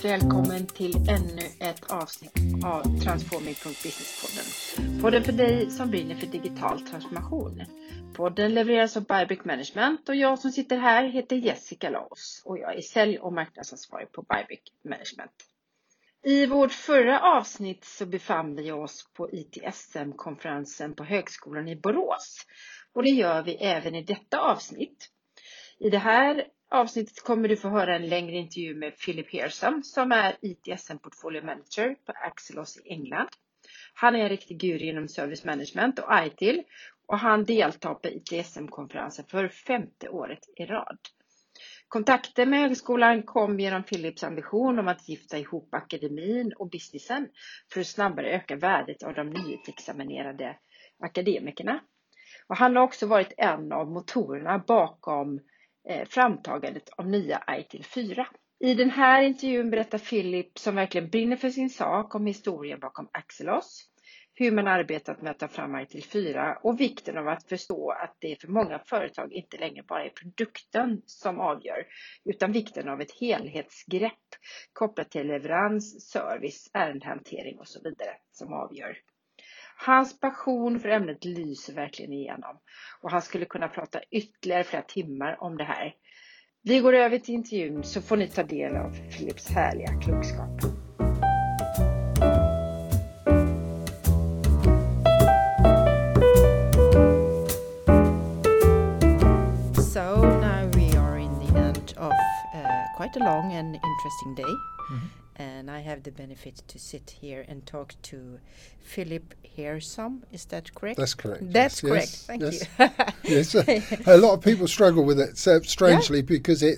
varmt välkommen till ännu ett avsnitt av Transforming.businesspodden. Podden för dig som brinner för digital transformation. Podden levereras av Bybrick Management och jag som sitter här heter Jessica Laos och jag är sälj- och marknadsansvarig på Bybrick Management. I vårt förra avsnitt så befann vi oss på ITSM-konferensen på Högskolan i Borås och det gör vi även i detta avsnitt. I det här avsnittet kommer du få höra en längre intervju med Philip Hearsum som är ITSM Portfolio Manager på Axelos i England. Han är en riktig guru inom service management och ITIL och han deltar på ITSM-konferensen för 5:e året i rad. Kontakten med högskolan kom genom Philips ambition om att gifta ihop akademin och businessen för att snabbare öka värdet av de nyutexaminerade akademikerna. Och han har också varit en av motorerna bakom framtagandet av nya ITIL 4. I den här intervjun berättar Philip, som verkligen brinner för sin sak, om historien bakom Axelos, hur man arbetat med att ta fram ITIL 4 och vikten av att förstå att det för många företag inte längre bara är produkten som avgör, utan vikten av ett helhetsgrepp kopplat till leverans, service, ärendehantering och så vidare som avgör. Hans passion för ämnet lyser verkligen igenom och han skulle kunna prata ytterligare flera timmar om det här. Vi går över till intervjun så får ni ta del av Philips härliga klokskap. So now we are in the end of quite a long and interesting day. And I have the benefit to sit here and talk to Philip Hearsum. Is that correct? That's correct. That's correct. Yes. Thank yes. you. Yes. A lot of people struggle with it, so strangely, because it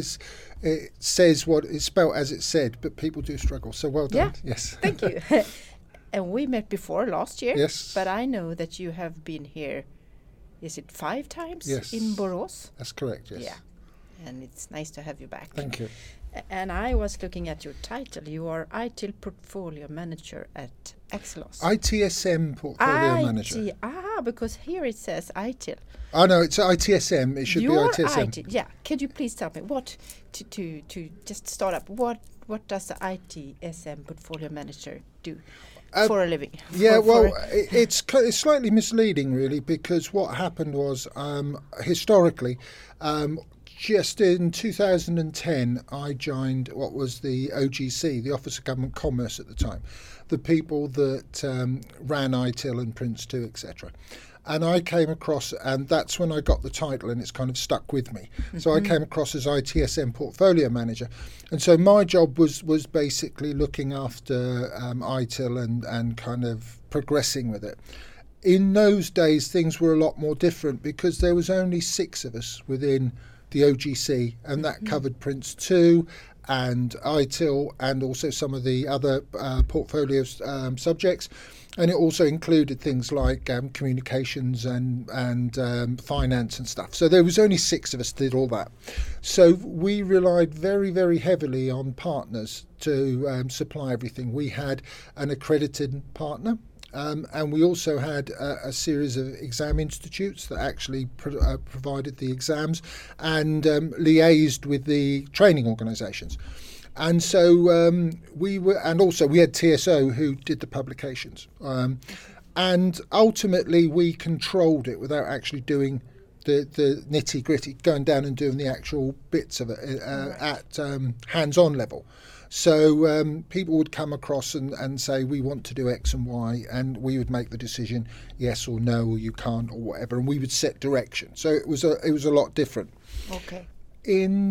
says what it's spelt as it said, but people do struggle. So well done. Yeah. Yes. Thank you. And we met before last year. Yes. But I know that you have been here, is it 5 times Yes. in Borås? That's correct, yes. Yeah. And it's nice to have you back. Thank you. And I was looking at your title. You are ITIL Portfolio Manager at Axelos. ITSM Portfolio Manager. Because here it says ITIL. I know, it's ITSM. It should be ITSM. ITIL. Yeah. Could you please tell me what to just start up? What does the ITSM Portfolio Manager do for a living? Yeah, it's slightly misleading, really, because what happened was historically. Just in 2010, I joined what was the OGC, the Office of Government Commerce at the time, the people that ran ITIL and Prince 2, etc. And I came across, and that's when I got the title, and it's kind of stuck with me. Mm-hmm. So I came across as ITSM Portfolio Manager. And so my job was basically looking after ITIL and kind of progressing with it. In those days, things were a lot more different because there was only 6 of us within the OGC, and that covered Prince 2 and ITIL and also some of the other portfolio subjects, and it also included things like communications and finance and stuff. So there was only 6 of us that did all that. So we relied very, very heavily on partners to supply everything. We had an accredited partner. And we also had a series of exam institutes that actually provided the exams and liaised with the training organisations. And so we had TSO who did the publications. And ultimately we controlled it without actually doing the nitty gritty, going down and doing the actual bits of it at hands-on level. So people would come across and say, we want to do X and Y, and we would make the decision, yes or no, or you can't, or whatever, and we would set direction. So it was a lot different. Okay. In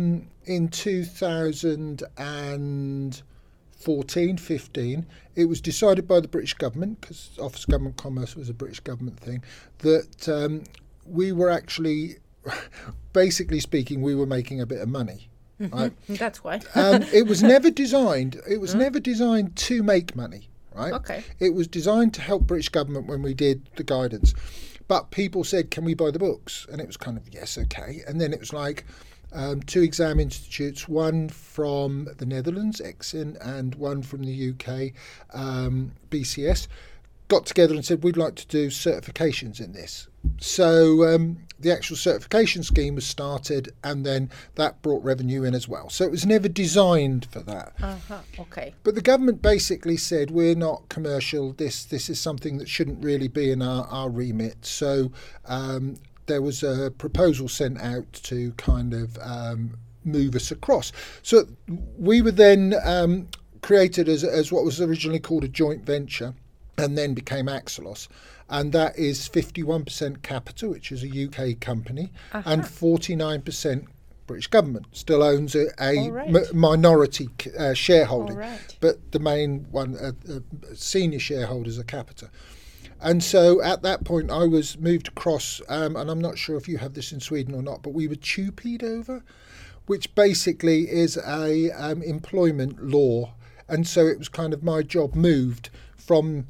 2014-15, it was decided by the British government, because Office of Government Commerce was a British government thing, that we were actually, basically speaking, we were making a bit of money. Right? That's why. It was never designed. It was never designed to make money, right? Okay. It was designed to help British government when we did the guidance, but people said, "Can we buy the books?" And it was kind of yes, okay. And then it was like 2 exam institutes, one from the Netherlands, EXIN, and one from the UK, BCS. got together and said we'd like to do certifications in this. So the actual certification scheme was started, and then that brought revenue in as well. So it was never designed for that. Okay. But the government basically said we're not commercial. This is something that shouldn't really be in our remit. So there was a proposal sent out to kind of move us across. So we were then created as what was originally called a joint venture, and then became Axelos. And that is 51% Capita, which is a UK company, and 49% British government still owns a minority shareholding. But the main one, senior shareholders are Capita. And so at that point I was moved across, and I'm not sure if you have this in Sweden or not, but we were TUPE'd over, which basically is a employment law. And so it was kind of my job moved from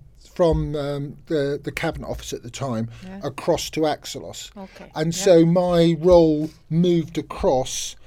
the Cabinet Office at the time across to Axelos. And so my role moved across,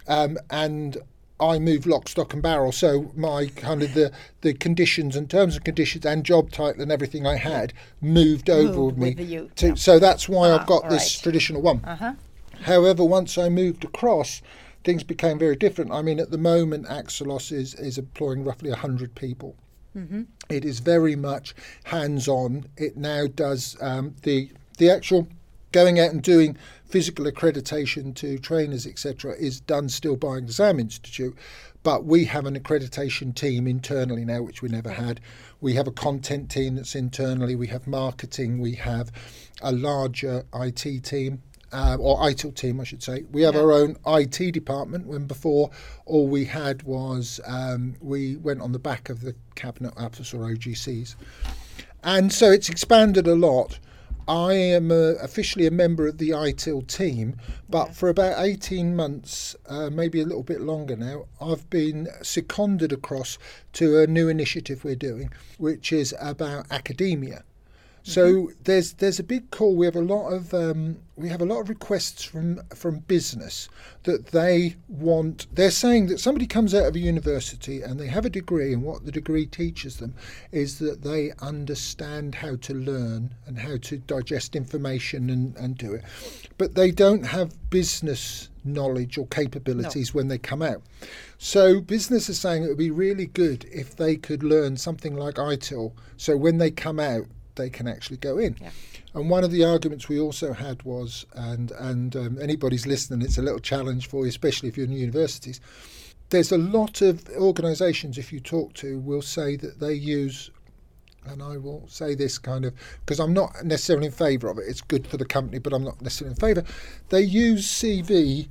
and I moved lock, stock and barrel. So my kind of the conditions and terms and conditions and job title and everything I had moved over with me. So that's why I've got this traditional one. However, once I moved across, things became very different. I mean, at the moment, Axelos is employing roughly 100 people. It is very much hands-on. It now does the actual going out and doing physical accreditation to trainers, etc., is done still by Exam Institute. But we have an accreditation team internally now, which we never had. We have a content team that's internally. We have marketing. We have a larger IT team. Or ITIL team, I should say. We have our own IT department, when before all we had was we went on the back of the Cabinet Office or OGCs. And so it's expanded a lot. I am officially a member of the ITIL team, but for about 18 months, maybe a little bit longer now, I've been seconded across to a new initiative we're doing, which is about academia. So there's a big call. We have a lot of requests from business that they want. They're saying that somebody comes out of a university and they have a degree, and what the degree teaches them is that they understand how to learn and how to digest information and do it, but they don't have business knowledge or capabilities when they come out. So business is saying it would be really good if they could learn something like ITIL, so when they come out they can actually go in. And one of the arguments we also had was, and anybody's listening, it's a little challenge for you, especially if you're in universities. There's a lot of organisations, if you talk to, will say that they use, and I will say this kind of, because I'm not necessarily in favour of it, it's good for the company, but I'm not necessarily in favour. They use CV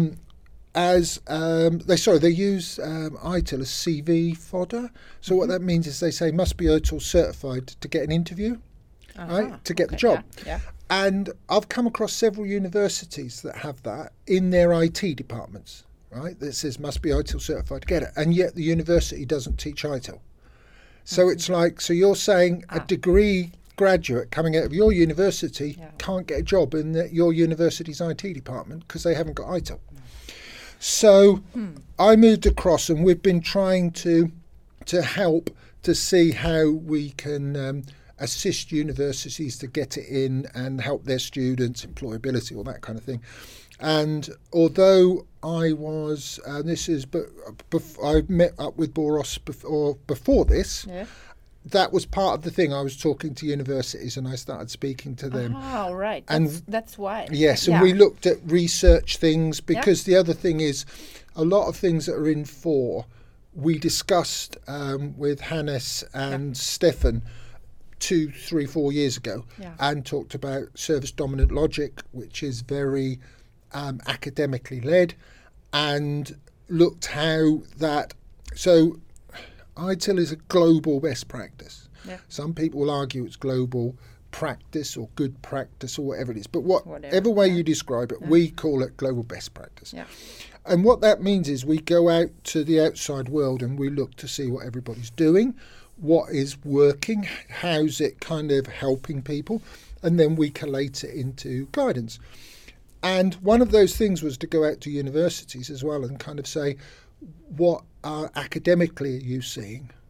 they use ITIL as CV fodder. So what that means is they say must be ITIL certified to get an interview, right, to get the job. And I've come across several universities that have that in their IT departments, right, that says must be ITIL certified to get it, and yet the university doesn't teach ITIL. So it's like, so you're saying a degree graduate coming out of your university can't get a job in your university's IT department because they haven't got ITIL. So I moved across, and we've been trying to help to see how we can assist universities to get it in and help their students, employability, all that kind of thing. And although I was, I met up with Boros before this. That was part of the thing. I was talking to universities and I started speaking to them. Oh, right. That's why. Yes, and we looked at research things, because the other thing is a lot of things that are in 4, we discussed with Hannes and Stefan 2, 3, 4 years ago, and talked about service dominant logic, which is very academically led, and looked how that... So ITIL is a global best practice. Some people will argue it's global practice or good practice or whatever it is, but whatever way you describe it, we call it global best practice. And what that means is we go out to the outside world and we look to see what everybody's doing, what is working, how's it kind of helping people, and then we collate it into guidance. And one of those things was to go out to universities as well and kind of say, what academically are you seeing?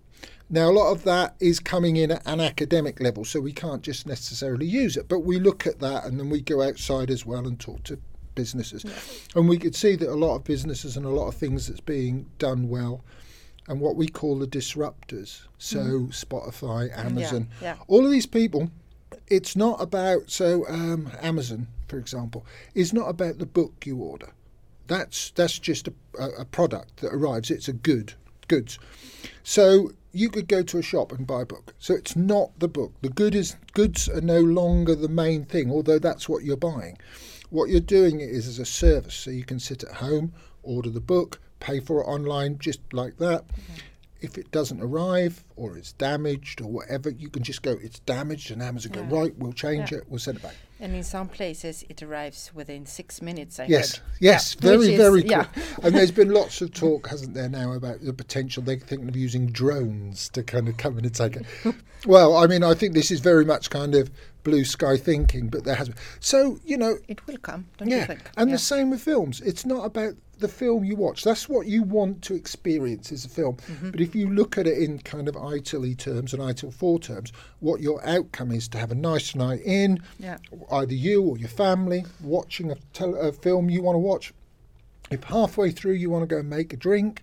Now, a lot of that is coming in at an academic level, so we can't just necessarily use it. But we look at that and then we go outside as well and talk to businesses. Yeah. And we could see that a lot of businesses and a lot of things that's being done well, and what we call the disruptors, so Spotify, Amazon, all of these people, it's not about, Amazon, for example, is not about the book you order. That's just a product that arrives. It's a goods. So you could go to a shop and buy a book. So it's not the book. The goods are no longer the main thing, although that's what you're buying. What you're doing is as a service. So you can sit at home, order the book, pay for it online, just like that. Mm-hmm. If it doesn't arrive or it's damaged or whatever, you can just go, it's damaged, and Amazon go, right, we'll change it, we'll send it back. And in some places it arrives within 6 minutes, I heard. Yes, very quick. Yeah. And there's been lots of talk, hasn't there, now about the potential, they're thinking of using drones to kind of come in and take it. Well, I mean, I think this is very much kind of blue sky thinking, but there has been. So, it will come, don't you think? And the same with films. It's not about the film you watch. That's what you want to experience as a film. Mm-hmm. But if you look at it in kind of ITIL terms and ITIL 4 terms, what your outcome is to have a nice night in, either you or your family, watching a film you want to watch. If halfway through you want to go and make a drink,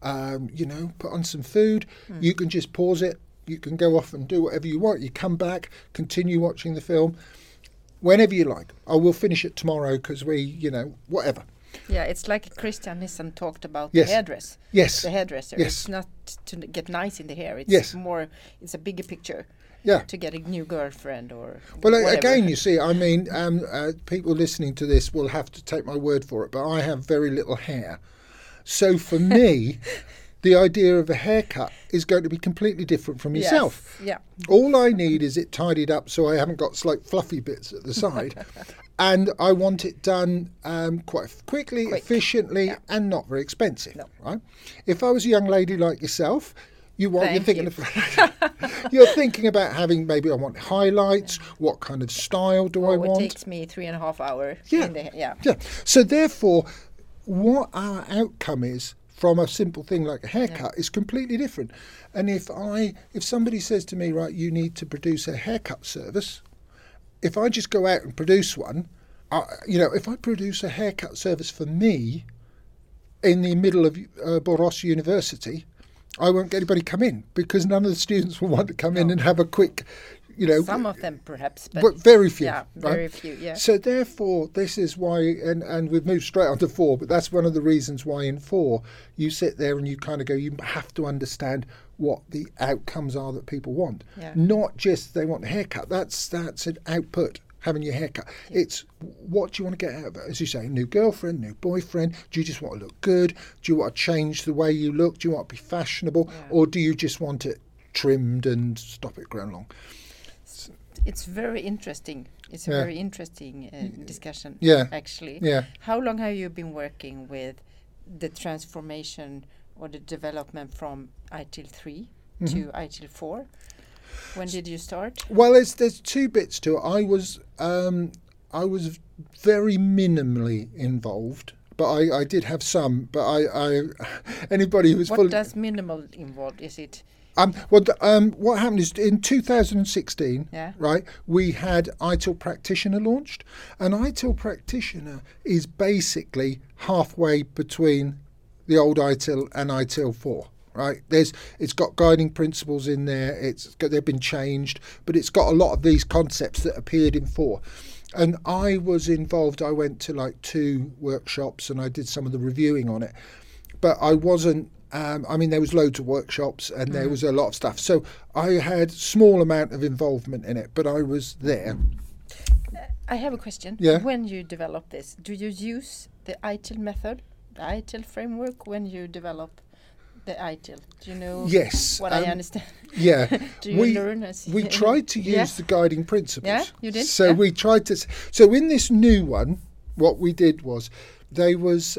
put on some food, you can just pause it. You can go off and do whatever you want. You come back, continue watching the film whenever you like. I will finish it tomorrow because whatever. Yeah, it's like Christian Nissen talked about the hairdresser. Yes. The hairdresser. Yes. It's not to get nice in the hair. It's more, it's a bigger picture. Yeah. To get a new girlfriend or whatever. Again, you see, I mean, people listening to this will have to take my word for it, but I have very little hair. So for me, the idea of a haircut is going to be completely different from yourself. Yes. Yeah. All I need is it tidied up so I haven't got slight fluffy bits at the side. And I want it done quite quickly, efficiently, and not very expensive. No. Right? If I was a young lady like yourself, you're thinking about having, maybe I want highlights. What kind of style do I want? It takes me 3.5 hours. Yeah. So therefore, what our outcome is from a simple thing like a haircut is completely different. And if somebody says to me, right, you need to produce a haircut service. If I just go out and produce one, if I produce a haircut service for me in the middle of Borås University, I won't get anybody come in because none of the students will want to come in and have a quick, Some of them perhaps, but very few. Yeah, very few, yeah. So therefore, this is why, and we've moved straight on to 4, but that's one of the reasons why in 4, you sit there and you kind of go, you have to understand what the outcomes are that people want. Yeah. Not just they want a haircut. That's an output, having your haircut. Yeah. It's what do you want to get out of it? As you say, new girlfriend, new boyfriend. Do you just want to look good? Do you want to change the way you look? Do you want to be fashionable? Yeah. Or do you just want it trimmed and stop it growing long? It's very interesting. It's a very interesting discussion, actually. Yeah. How long have you been working with the transformation or the development from ITIL 3 to ITIL 4? When did you start? Well, there's 2 bits to it. I was very minimally involved, but I did have some. But anybody who's what does minimal involve? Is it? What happened is in 2016, right, we had ITIL Practitioner launched, and ITIL Practitioner is basically halfway between the old ITIL and ITIL 4. Right, it's got guiding principles in there. They've been changed, but it's got a lot of these concepts that appeared in 4. And I was involved. I went to 2 workshops and I did some of the reviewing on it, but I wasn't. There was loads of workshops and there was a lot of stuff. So I had small amount of involvement in it, but I was there. I have a question. Yeah. When you develop this, do you use the ITIL method, the ITIL framework when you develop the ITIL? Do you know what I understand? Yeah. Do you learn? We tried to use the guiding principles. Yeah, you did? So we tried to... So in this new one, what we did was, they was...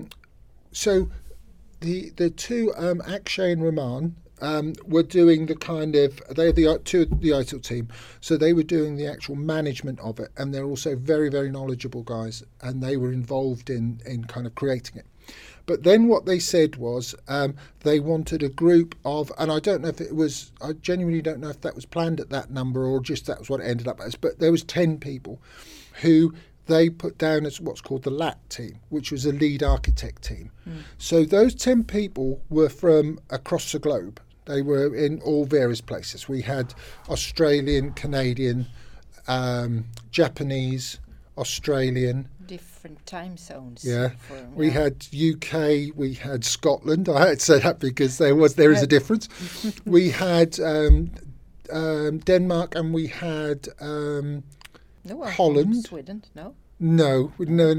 The 2, Akshay and Raman, were doing the kind of... They're the ITIL team, so they were doing the actual management of it, and they're also very, very knowledgeable guys, and they were involved in kind of creating it. But then what they said was they wanted a group of, and I don't know if it was, I genuinely don't know if that was planned at that number or just that was what it ended up as, but there was 10 people who they put down as what's called the LAT team, which was a lead architect team. So those 10 people were from across the globe. They were in all various places. We had Australian, Canadian, Japanese, Australian, different time zones. Yeah, we had UK, we had Scotland. I had to say that because there is a difference. We had Denmark, and we had Holland. Sweden, no. No.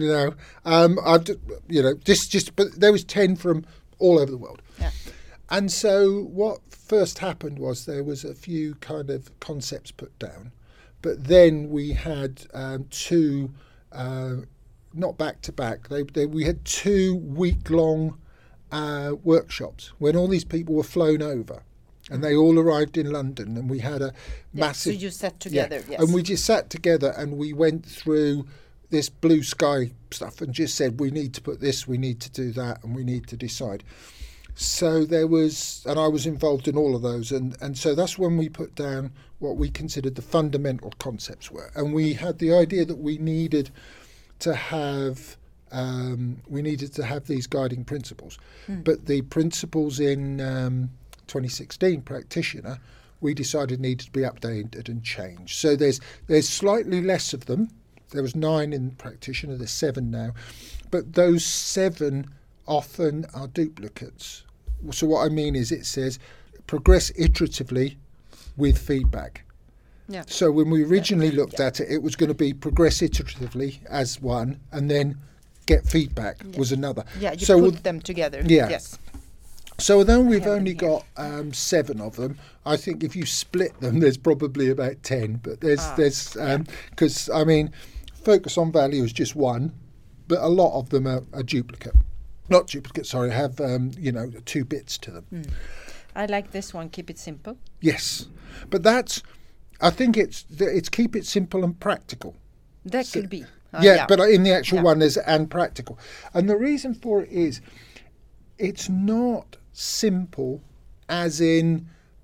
But there was 10 from all over the world. Yeah. And so what first happened was there was a few kind of concepts put down, but then we had two. Not back to back. We had 2 week-long workshops when all these people were flown over, and they all arrived in London, and we had a massive. So you sat together, yes. And we just sat together and we went through this blue sky stuff and just said we need to put this, we need to do that, and we need to decide. So there was, and I was involved in all of those, and so that's when we put down what we considered the fundamental concepts were, and we had the idea that we needed to have these guiding principles, but the principles in 2016 practitioner we decided needed to be updated and changed. So there's slightly less of them. There was 9 in practitioner. There's 7 now, but those 7 often are duplicates. So what I mean is it says progress iteratively with feedback. Yeah. So when we originally looked at it, it was going to be progress iteratively as one, and then get feedback was another. Yeah, you so put them together. Yeah. Yes. So although we've only got 7 of them, I think if you split them, there's probably about 10. But there's because I mean, focus on value is just one, but a lot of them are duplicate. Not duplicate, sorry, have 2 bits to them. I like this one. Keep it simple. Yes, but I think it's keep it simple and practical. That could be. But in the actual one there's and practical. And the reason for it is it's not simple as in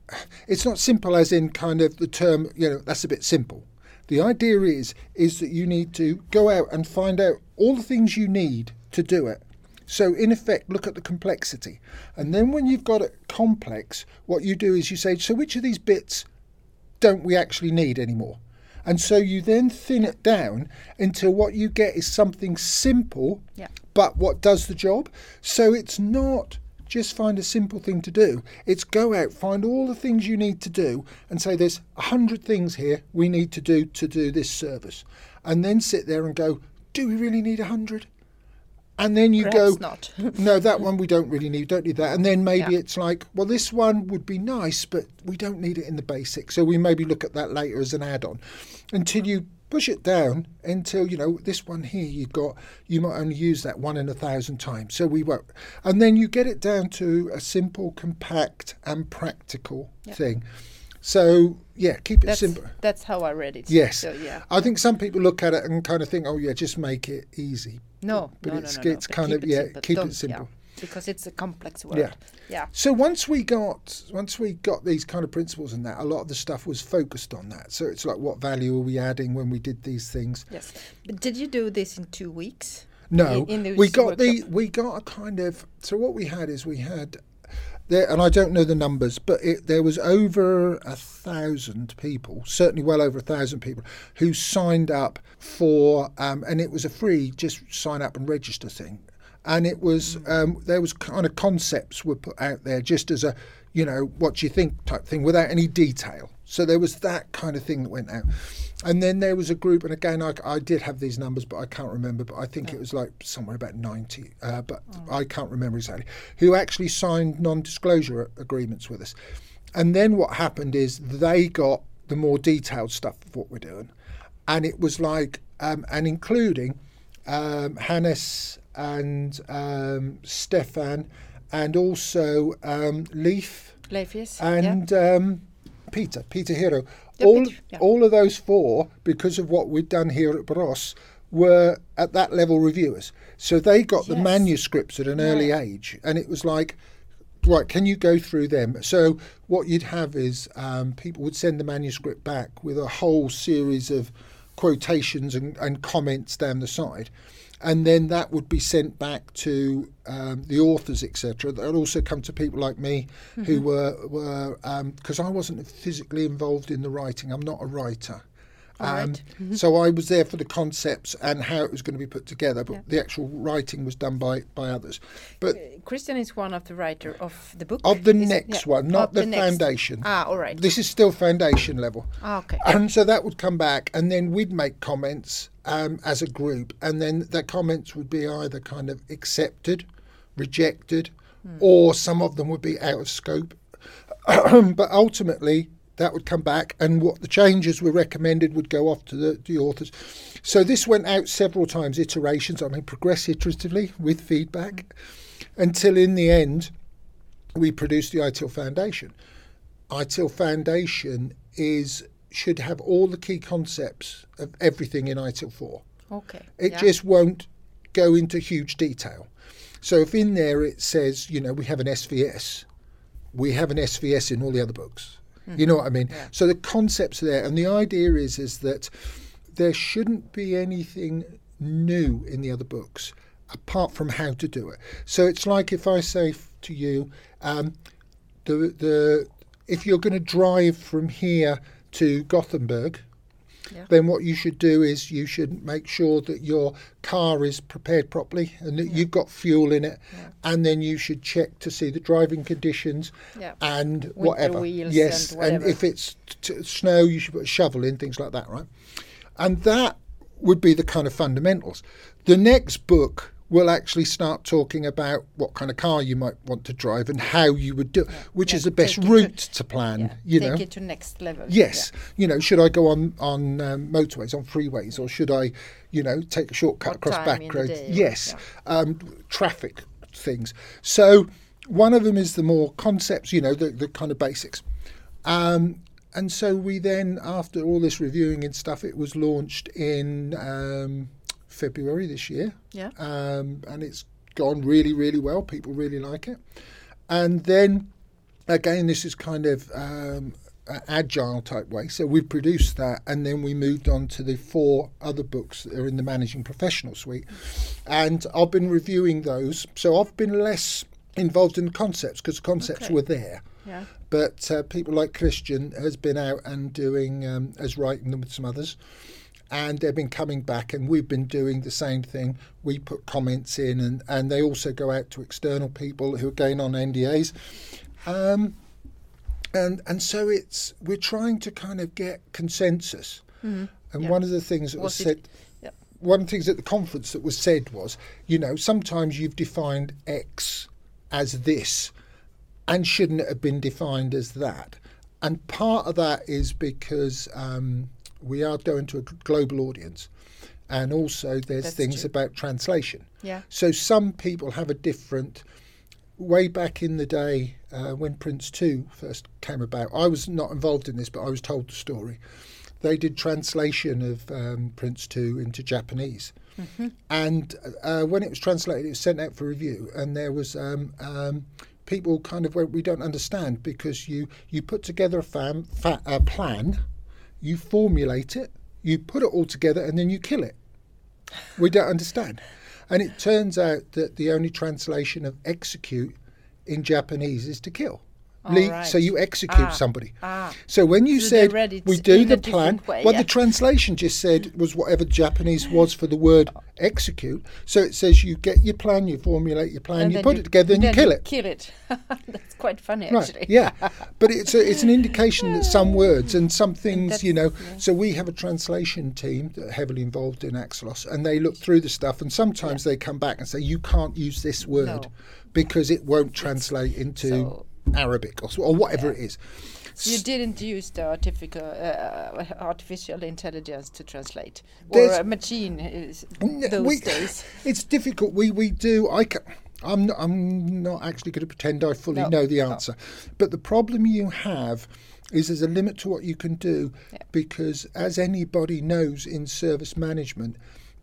kind of the term, that's a bit simple. The idea is that you need to go out and find out all the things you need to do it. So in effect, look at the complexity. And then when you've got it complex, what you do is you say, so which of these bits don't we actually need anymore? And so you then thin it down until what you get is something simple, but what does the job. So it's not just find a simple thing to do. It's go out, find all the things you need to do and say there's 100 things here we need to do this service. And then sit there and go, do we really need 100? And then you Perhaps go, not. no, that one we don't really need, don't need that. And then maybe it's like, well, this one would be nice, but we don't need it in the basics. So we maybe look at that later as an add-on until you push it down until, this one here you might only use that 1 in 1,000 times. So we won't. And then you get it down to a simple, compact and practical thing. So, keep it simple. That's how I read it. Yes. So, I think some people look at it and kind of think, just make it easy. No, it's but kind of keep it simple. Yeah, because it's a complex word. Yeah. So once we got these kind of principles and that, a lot of the stuff was focused on that. So it's like, what value are we adding when we did these things? Yes. But did you do this in 2 weeks? No. We got a kind of. So what we had is there, and I don't know the numbers, but there was over 1,000 people, certainly well over 1,000 people, who signed up for, and it was a free just sign up and register thing. And it was, there was kind of concepts were put out there just as a, what do you think type thing without any detail. So there was that kind of thing that went out. And then there was a group, and again, I did have these numbers, but I can't remember, but I think it was like somewhere about 90, but I can't remember exactly, who actually signed non-disclosure agreements with us. And then what happened is they got the more detailed stuff of what we're doing. And it was like, and including Hannes and Stefan, and also Leif, yes. And Peter Hero. Yeah, All of those 4, because of what we'd done here at Borås, were at that level reviewers. So they got the Yes. manuscripts at an early age, and it was like, right, can you go through them? So what you'd have is people would send the manuscript back with a whole series of quotations and comments down the side. And then that would be sent back to the authors, etc. That would also come to people like me, who were because I wasn't physically involved in the writing. I'm not a writer. Right. So I was there for the concepts and how it was going to be put together, but the actual writing was done by others. But Christian is one of the writer of the book. of the Is it? next Yeah. one, not Of the next. foundation. All right. This is still foundation level. Okay. And so that would come back, and then we'd make comments as a group, and then the comments would be either kind of accepted, rejected, or some of them would be out of scope. But ultimately, that would come back, and what the changes were recommended would go off to the authors. So this went out several times, iterations, progress iteratively with feedback, until in the end, we produced the ITIL Foundation. ITIL Foundation should have all the key concepts of everything in ITIL 4. Okay. It just won't go into huge detail. So if in there it says, we have an SVS, we have an SVS in all the other books. You know what I mean? Yeah. So the concepts are there, and the idea is that there shouldn't be anything new in the other books apart from how to do it. So it's like if I say to you, if you're going to drive from here to Gothenburg, then what you should do is you should make sure that your car is prepared properly and that you've got fuel in it, and then you should check to see the driving conditions and Winter whatever. wheels Yes, and whatever. if it's snow, you should put a shovel in, things like that, right? And that would be the kind of fundamentals. The next book will actually start talking about what kind of car you might want to drive and how you would do it, which is the best route to plan. Take it to next level. Yes, should I go on motorways, on freeways, or should I, take a shortcut What across time back in the roads? day, Yes, traffic things. So one of them is the more concepts, the kind of basics. And so we then, after all this reviewing and stuff, it was launched in February this year. Yeah. And it's gone really, really well. People really like it. And then, again, this is kind of agile type way. So we produced that, and then we moved on to the 4 other books that are in the Managing Professional suite. And I've been reviewing those. So I've been less involved in the concepts because the concepts were there. Yeah. But people like Christian has been out and doing, has writing them with some others. And they've been coming back, and we've been doing the same thing. We put comments in, and they also go out to external people who are going on NDAs. And so we're trying to kind of get consensus. And one of the things that was said, one of the things at the conference that was said was, sometimes you've defined X as this, and shouldn't it have been defined as that? And part of that is because we are going to a global audience, and also there's things about translation. Yeah. So some people have a different. Way back in the day, when Prince 2 first came about, I was not involved in this, but I was told the story. They did translation of Prince 2 into Japanese. And when it was translated, it was sent out for review, and there was people kind of went, we don't understand, because you put together a plan, you formulate it, you put it all together, and then you kill it. We don't understand. And it turns out that the only translation of execute in Japanese is to kill. Right. So you execute somebody. Ah. So when you So said they read it we do in the a plan, different way, well, yeah. the translation just said was whatever Japanese was for the word execute. So it says you get your plan, you formulate your plan, you then put it together, and you kill it. Kill it. That's quite funny, Right, actually. yeah. But it's an indication that some words and some things, that's- so we have a translation team that are heavily involved in Axelos, and they look through the stuff, and sometimes they come back and say, you can't use this word No. because it won't translate into So- Arabic or whatever it is. You didn't use the artificial intelligence to translate, or There's- a machine those days. It's difficult. We do. I'm not actually going to pretend I fully know the answer, but the problem you have is there's a limit to what you can do, because as anybody knows in service management,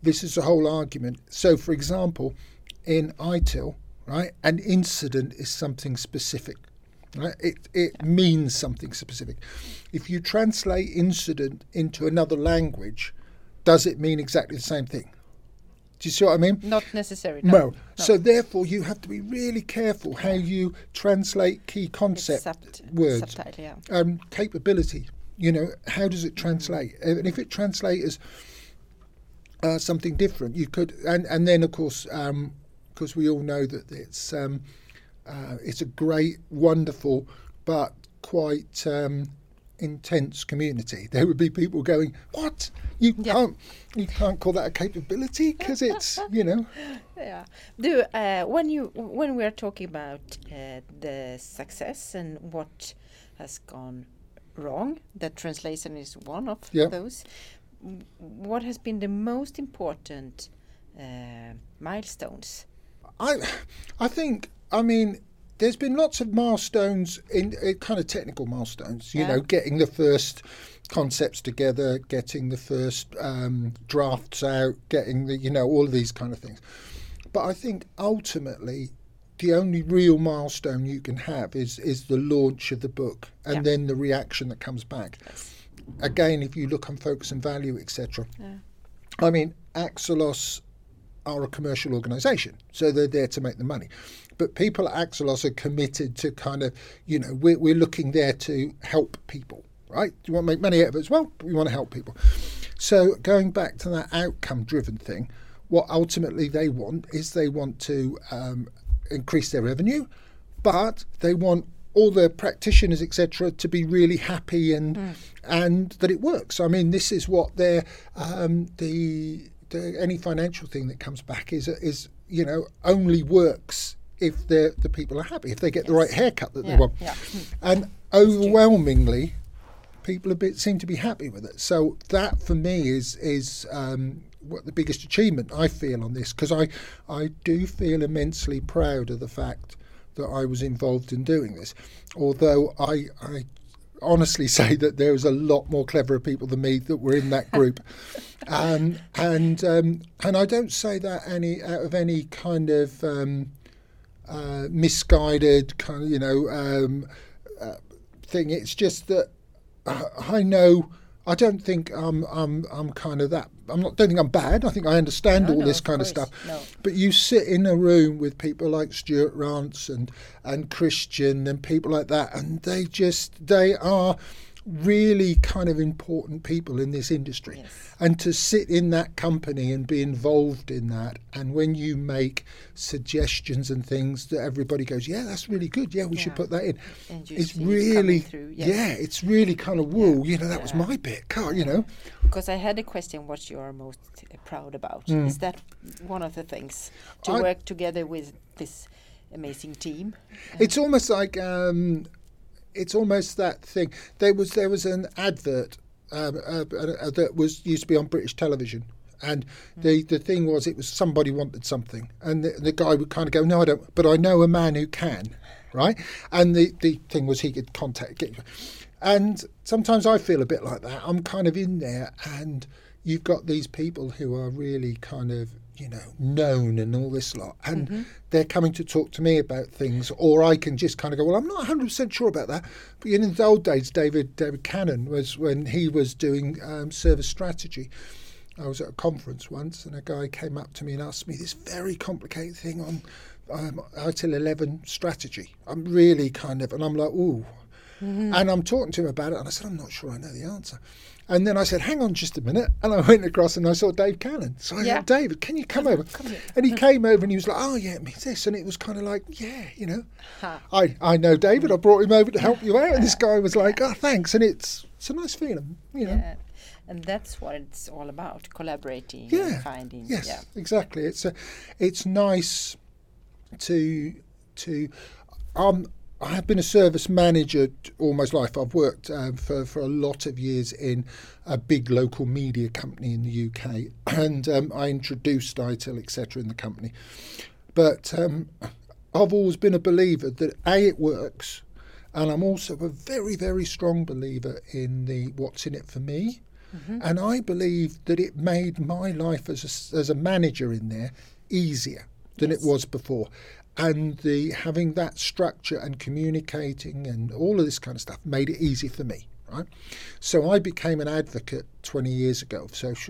this is the whole argument. So, for example, in ITIL, right, an incident is something specific. Right? It means something specific. If you translate incident into another language, does it mean exactly the same thing? Do you see what I mean? Not necessarily. No. So therefore, you have to be really careful how you translate key concept words. Subtitle, yeah. Capability. How does it translate? And if it translates as something different, you could. And then, of course, because we all know that it's a great, wonderful, but quite intense community. There would be people going, "What? You can't call that a capability because it's Yeah. When we are talking about the success and what has gone wrong, that translation is one of those. What has been the most important milestones? I think. I mean, there's been lots of milestones in kind of technical milestones. Getting the first concepts together, getting the first drafts out, getting the all of these kind of things. But I think ultimately, the only real milestone you can have is the launch of the book, and then the reaction that comes back. Yes. Again, if you look on Focus and Value, etc. I mean, Axelos are a commercial organisation, so they're there to make the money. But people at Axelos are committed to kind of, we're looking there to help people, right? Do you want to make money out of it as well? But we want to help people. So going back to that outcome-driven thing, what ultimately they want to increase their revenue, but they want all the practitioners, etc., to be really happy and that it works. I mean, this is what they're any financial thing that comes back is only works if the people are happy, if they get the right haircut that they want. Yeah. And overwhelmingly, people seem to be happy with it. So that for me is what the biggest achievement I feel on this, because I do feel immensely proud of the fact that I was involved in doing this. Although I honestly say that there was a lot more cleverer people than me that were in that group. And I don't say that out of any kind of misguided kind of thing. It's just that I know. I don't think I'm kind of that. Don't think I'm bad. I think I understand all this kind of stuff. No. But you sit in a room with people like Stuart Rance and Christian and people like that, and they are really kind of important people in this industry. Yes. And to sit in that company and be involved in that, and when you make suggestions and things that everybody goes, yeah, that's really good, yeah, we should put that in. And it's really through, it's really kind of that was my bit, Because I had a question, what you are most proud about. Is that one of the things, to work together with this amazing team? It's almost like it's almost that thing. There was an advert that used to be on British television, and the thing was, it was somebody wanted something, and the guy would kind of go, no, I don't, but I know a man who can, right? And the thing was, he could get. And sometimes I feel a bit like that. I'm kind of in there, and you've got these people who are really kind of known and all this lot, and they're coming to talk to me about things, or I can just kind of go, well, I'm not 100% sure about that. But in the old days, David Cannon was, when he was doing service strategy. I was at a conference once, and a guy came up to me and asked me this very complicated thing on ITIL 11 strategy. I'm really kind of, and I'm like, ooh. And I'm talking to him about it, and I said, I'm not sure I know the answer. And then I said, hang on just a minute. And I went across and I saw Dave Cannon. So I said, David, can you come over? And he came over and he was like, oh, yeah, it means this. And it was kind of like, I know David. I brought him over to help you out. And this guy was like, oh, thanks. And it's a nice feeling, Yeah. And that's what it's all about, collaborating and finding. Yes, exactly. It's nice to I have been a service manager all my life. I've worked for a lot of years in a big local media company in the UK, and I introduced ITIL, etc., in the company. But I've always been a believer that it works, and I'm also a very, very strong believer in the what's in it for me. And I believe that it made my life as a manager in there easier than it was before. And having that structure and communicating and all of this kind of stuff made it easy for me, right? So I became an advocate 20 years ago of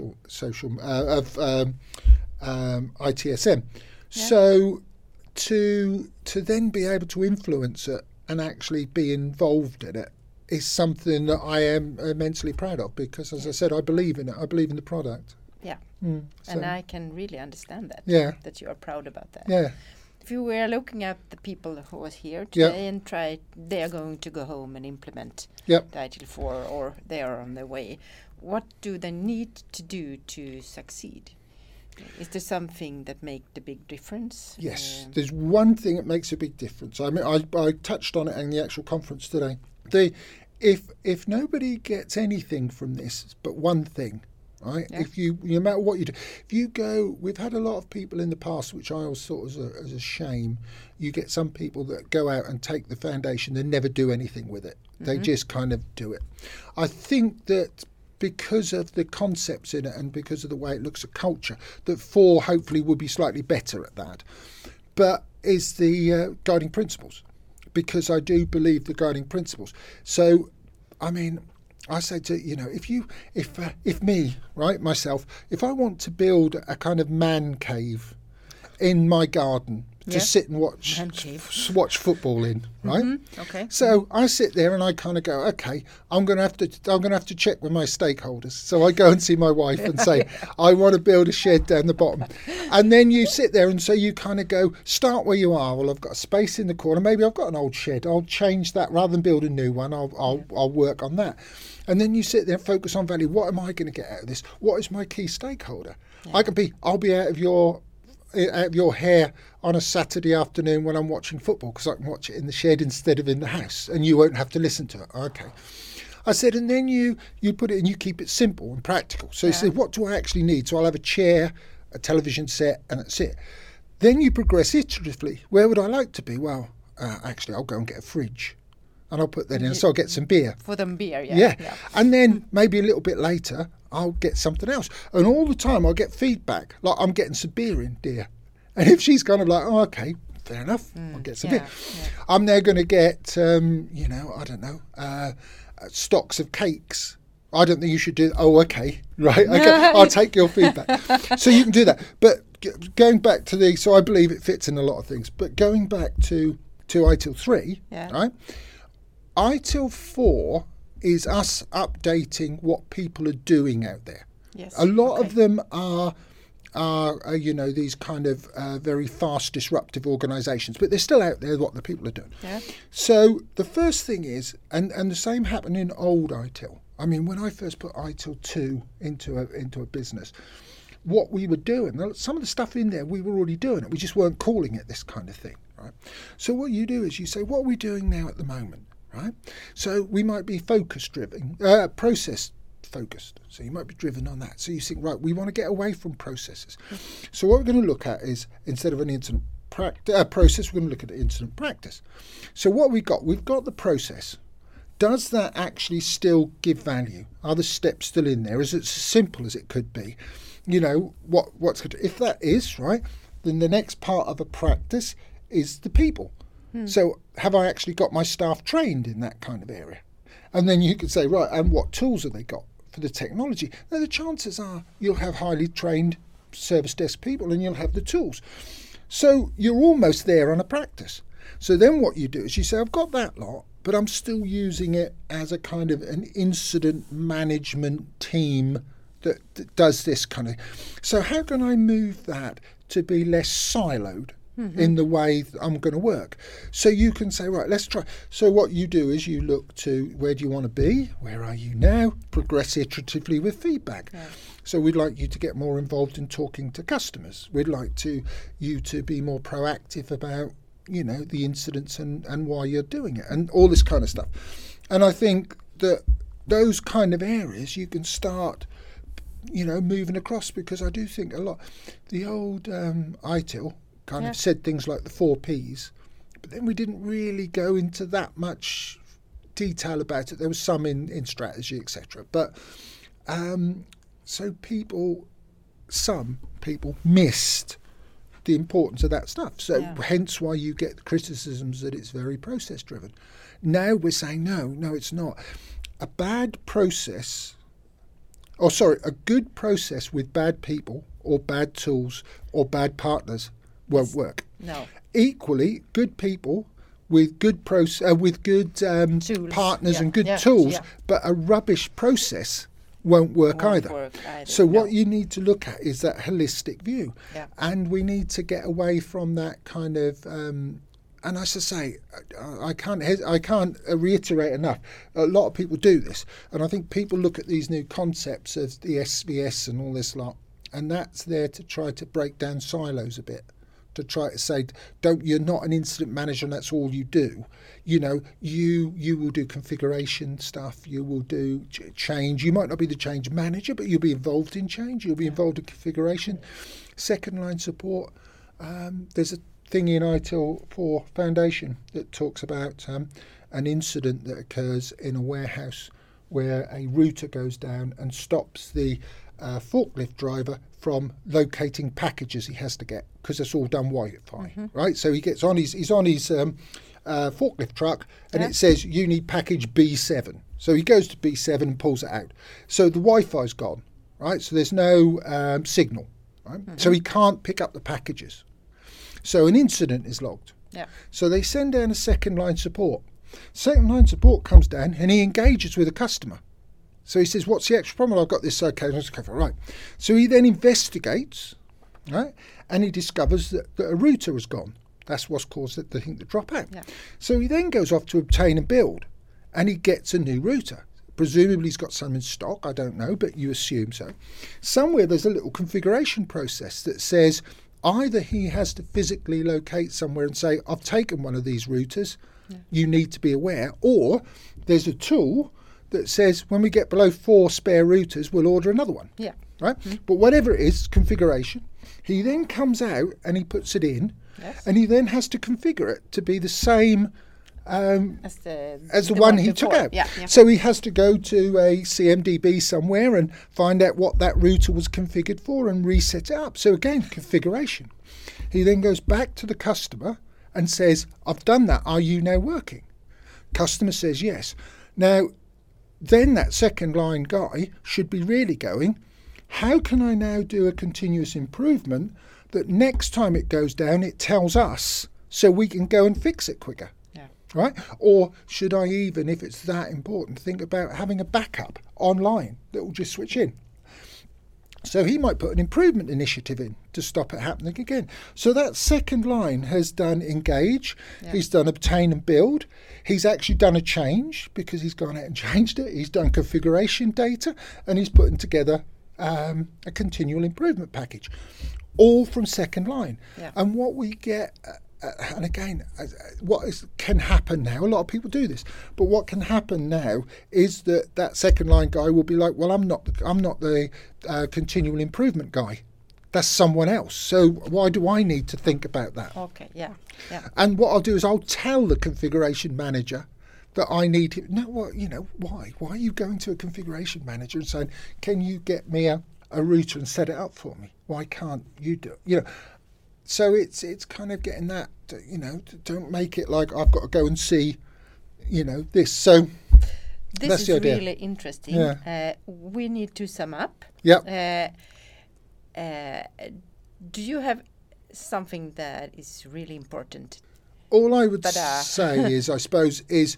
ITSM. So to then be able to influence it and actually be involved in it is something that I am immensely proud of, because, as I said, I believe in it. I believe in the product. Yeah. So. And I can really understand that. Yeah. That you are proud about that. Yeah. If you were looking at the people who was here today and they are going to go home and implement the ITIL 4, or they are on their way, what do they need to do to succeed? Is there something that makes the big difference? Yes, there's one thing that makes a big difference. I mean, I touched on it in the actual conference today. If nobody gets anything from this but one thing, right? Yeah. If you, no matter what you do, if you go, we've had a lot of people in the past, which I always thought was as a shame. You get some people that go out and take the foundation and never do anything with it. They just kind of do it. I think that because of the concepts in it and because of the way it looks at culture, that 4 hopefully will be slightly better at that. But is the guiding principles, because I do believe the guiding principles. So, I mean, I say to, if me, right, myself, if I want to build a kind of man cave in my garden to sit and watch football in, right? Okay. So I sit there and I kind of go, okay, I'm going to have to check with my stakeholders. So I go and see my wife and say, I want to build a shed down the bottom. And then you sit there and so you kind of go, start where you are. Well, I've got a space in the corner. Maybe I've got an old shed. I'll change that rather than build a new one. I'll work on that. And then you sit there and focus on value. What am I going to get out of this? What is my key stakeholder? Yeah. I'll be out of your hair on a Saturday afternoon when I'm watching football, because I can watch it in the shed instead of in the house, and you won't have to listen to it. Okay. I said, and then you put it and you keep it simple and practical. So you say, what do I actually need? So I'll have a chair, a television set, and that's it. Then you progress iteratively. Where would I like to be? Well, actually, I'll go and get a fridge. And I'll put that in, so I'll get some beer. For them beer, yeah. And then maybe a little bit later, I'll get something else. And all the time I'll get feedback, like, I'm getting some beer in, dear. And if she's kind of like, oh, okay, fair enough, I'll get some beer. Yeah. I'm now going to get, I don't know, stocks of cakes. I don't think you should do, oh, okay, right, okay, I'll take your feedback. So you can do that. But going back to so I believe it fits in a lot of things, but going back to ITIL 3, right? ITIL 4 is us updating what people are doing out there. Yes. A lot of them are these kind of very fast, disruptive organisations, but they're still out there, what the people are doing. Yeah. So the first thing is, and the same happened in old ITIL. I mean, when I first put ITIL 2 into a business, what we were doing, some of the stuff in there, we were already doing it. We just weren't calling it this kind of thing, right? So what you do is you say, what are we doing now at the moment? Right, so we might be focus-driven, process-focused. So you might be driven on that. So you think, right, we want to get away from processes. So what we're going to look at is, instead of an incident process, we're going to look at incident practice. So what we've got the process. Does that actually still give value? Are the steps still in there? Is it as simple as it could be? What's good? If that is right, then the next part of a practice is the people. So have I actually got my staff trained in that kind of area? And then you could say, right, and what tools have they got for the technology? Now, the chances are you'll have highly trained service desk people and you'll have the tools. So you're almost there on a practice. So then what you do is you say, I've got that lot, but I'm still using it as a kind of an incident management team that does this kind of. So how can I move that to be less siloed? In the way I'm going to work. So you can say, right, let's try. So what you do is you look to, where do you want to be? Where are you now? Progress iteratively with feedback. Yeah. So we'd like you to get more involved in talking to customers. We'd like you to be more proactive about, the incidents and why you're doing it and all this kind of stuff. And I think that those kind of areas you can start, moving across, because I do think a lot, the old ITIL, kind of said things like the 4 Ps, but then we didn't really go into that much detail about it. There was some in strategy, etc. But So some people missed the importance of that stuff. So hence why you get criticisms that it's very process driven. Now we're saying, no, it's not. A good process with bad people or bad tools or bad partners won't work. No. Equally, good people with good partners and good tools, but a rubbish process won't work either. So what you need to look at is that holistic view. Yeah. And we need to get away from that kind of and as I say, I can't reiterate enough. A lot of people do this, and I think people look at these new concepts of the SVS and all this lot, and that's there to try to break down silos a bit, to try to say, you're not an incident manager and that's all you do. You know, you will do configuration stuff, you will do change. You might not be the change manager, but you'll be involved in change, you'll be involved in configuration. Second line support. There's a thing in ITIL 4 Foundation that talks about an incident that occurs in a warehouse where a router goes down and stops the forklift driver from locating packages he has to get, because it's all done Wi-Fi, right? So he's on his forklift truck, and it says you need package B7. So he goes to B7 and pulls it out. So the Wi-Fi's gone, right? So there's no signal, right? So he can't pick up the packages. So an incident is logged. Yeah. So they send down a second line support. Second line support comes down and he engages with a customer. So he says, what's the extra problem? I've got this, okay, let's cover. Right. So he then investigates, right, and he discovers that a router has gone. That's what's caused the dropout. Yeah. So he then goes off to obtain and build, and he gets a new router. Presumably he's got some in stock, I don't know, but you assume so. Somewhere there's a little configuration process that says either he has to physically locate somewhere and say, I've taken one of these routers, you need to be aware, or there's a tool that says when we get below 4 spare routers, we'll order another one. Yeah. Right? But whatever it is, configuration, he then comes out and he puts it in, and he then has to configure it to be the same as the one he took out. Yeah. So he has to go to a CMDB somewhere and find out what that router was configured for and reset it up. So again, configuration. He then goes back to the customer and says, I've done that. Are you now working? Customer says yes. Now, then that second line guy should be really going, how can I now do a continuous improvement that next time it goes down, it tells us so we can go and fix it quicker? Right? Or should I even, if it's that important, think about having a backup online that will just switch in? So he might put an improvement initiative in to stop it happening again. So that second line has done engage, he's done obtain and build, he's actually done a change because he's gone out and changed it, he's done configuration data, and he's putting together a continual improvement package, all from second line. And what we get... and again, can happen now, a lot of people do this, but what can happen now is that second line guy will be like, well, I'm not the continual improvement guy. That's someone else. So why do I need to think about that? Okay, yeah. And what I'll do is I'll tell the configuration manager that I need him. No, why? Why are you going to a configuration manager and saying, can you get me a router and set it up for me? Why can't you do it? So it's kind of getting that, don't make it like I've got to go and see, this. So this is really interesting. Yeah. We need to sum up. Yeah. Do you have something that is really important? All I would say is, I suppose, is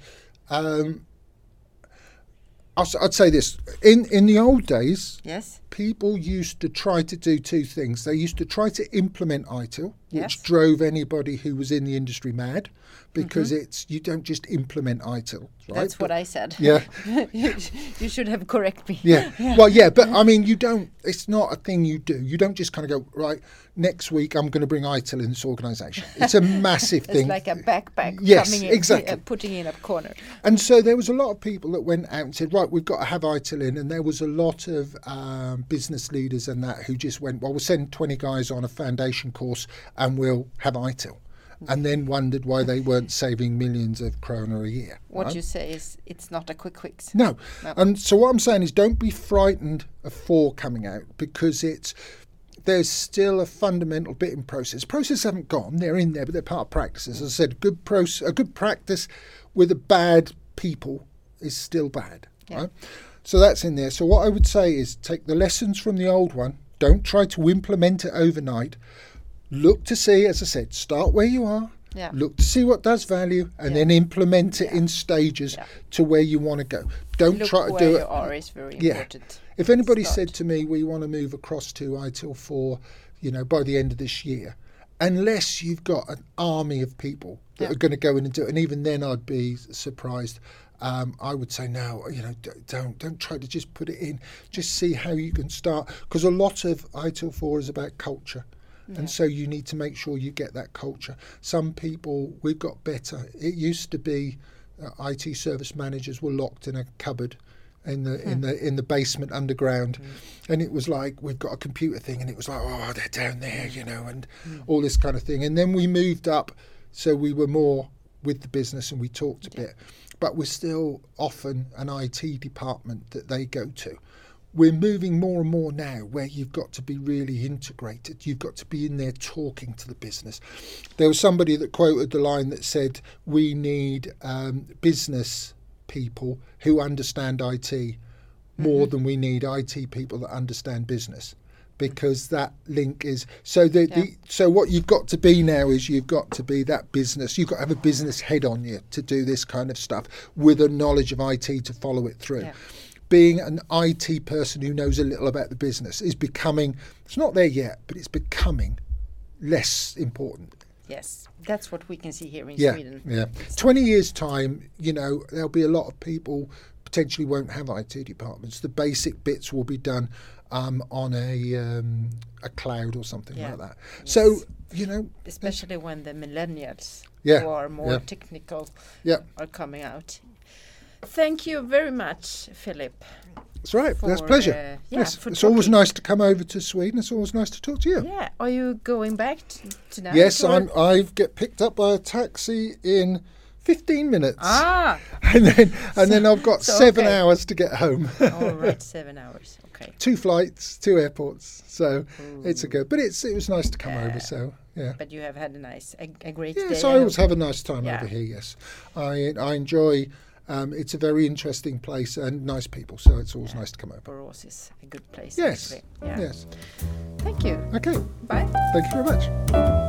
I'd say this. In the old days, people used to try to do two things. They used to try to implement ITIL, which drove anybody who was in the industry mad, because you don't just implement ITIL. Right? That's what I said. Yeah. You should have corrected me. Yeah. Well, yeah, but I mean, you don't. It's not a thing you do. You don't just kind of go, right, next week I'm going to bring ITIL in this organisation. It's a massive thing. It's like a backpack yes, coming in, exactly. Putting in a corner. And so there was a lot of people that went out and said, right, we've got to have ITIL in. And there was a lot of business leaders and that who just went, well, we'll send 20 guys on a foundation course and we'll have ITIL. and then wondered why they weren't saving millions of kroner a year. What right? you say is it's not a quick fix. No. And so what I'm saying is don't be frightened of 4 coming out, because there's still a fundamental bit in process. Processes haven't gone, they're in there, but they're part of practices. As I said, a good practice with a bad people is still bad. Yeah. Right? So that's in there. So what I would say is take the lessons from the old one, don't try to implement it overnight. Look to see, as I said, start where you are, look to see what does value, and then implement it in stages to where you want to go. Don't try to do it. Where you are is very important. If anybody said to me, we want to move across to ITIL 4, by the end of this year, unless you've got an army of people that are going to go in and do it, and even then I'd be surprised. I would say no, don't try to just put it in. Just see how you can start, because a lot of ITIL 4 is about culture. And so you need to make sure you get that culture. Some people, we've got better. It used to be IT service managers were locked in a cupboard in the basement underground, and it was like, we've got a computer thing, and it was like, oh, they're down there, and all this kind of thing. And then we moved up, so we were more with the business and we talked a bit, but we're still often an IT department that they go to. We're moving more and more now where you've got to be really integrated. You've got to be in there talking to the business. There was somebody that quoted the line that said, we need business people who understand IT more than we need IT people that understand business, because that link is so so what you've got to be now is you've got to be that business. You've got to have a business head on you to do this kind of stuff with a knowledge of IT to follow it through. Being an IT person who knows a little about the business is becoming, it's not there yet, but it's becoming less important. Yes, that's what we can see here in Sweden. Yeah, 20 years' time, there'll be a lot of people potentially won't have IT departments. The basic bits will be done on a cloud or something like that. Yes. So, especially when the millennials who are more technical are coming out. Thank you very much, Philip. That's right. That's a pleasure. It's always nice to come over to Sweden. It's always nice to talk to you. Yeah. Are you going back tonight? Yes, I get picked up by a taxi in 15 minutes. And then I've got 7 hours to get home. All right, 7 hours. Okay. 2 flights, 2 airports. So it's a good. But it was nice to come over. So yeah. But you have had a great day. Yes, I always have a nice time over here. Yes, I enjoy. It's a very interesting place and nice people, so it's always nice to come over. Borås is a good place. Yes. Actually. Yeah. Yes. Thank you. Okay. Bye. Thank you very much.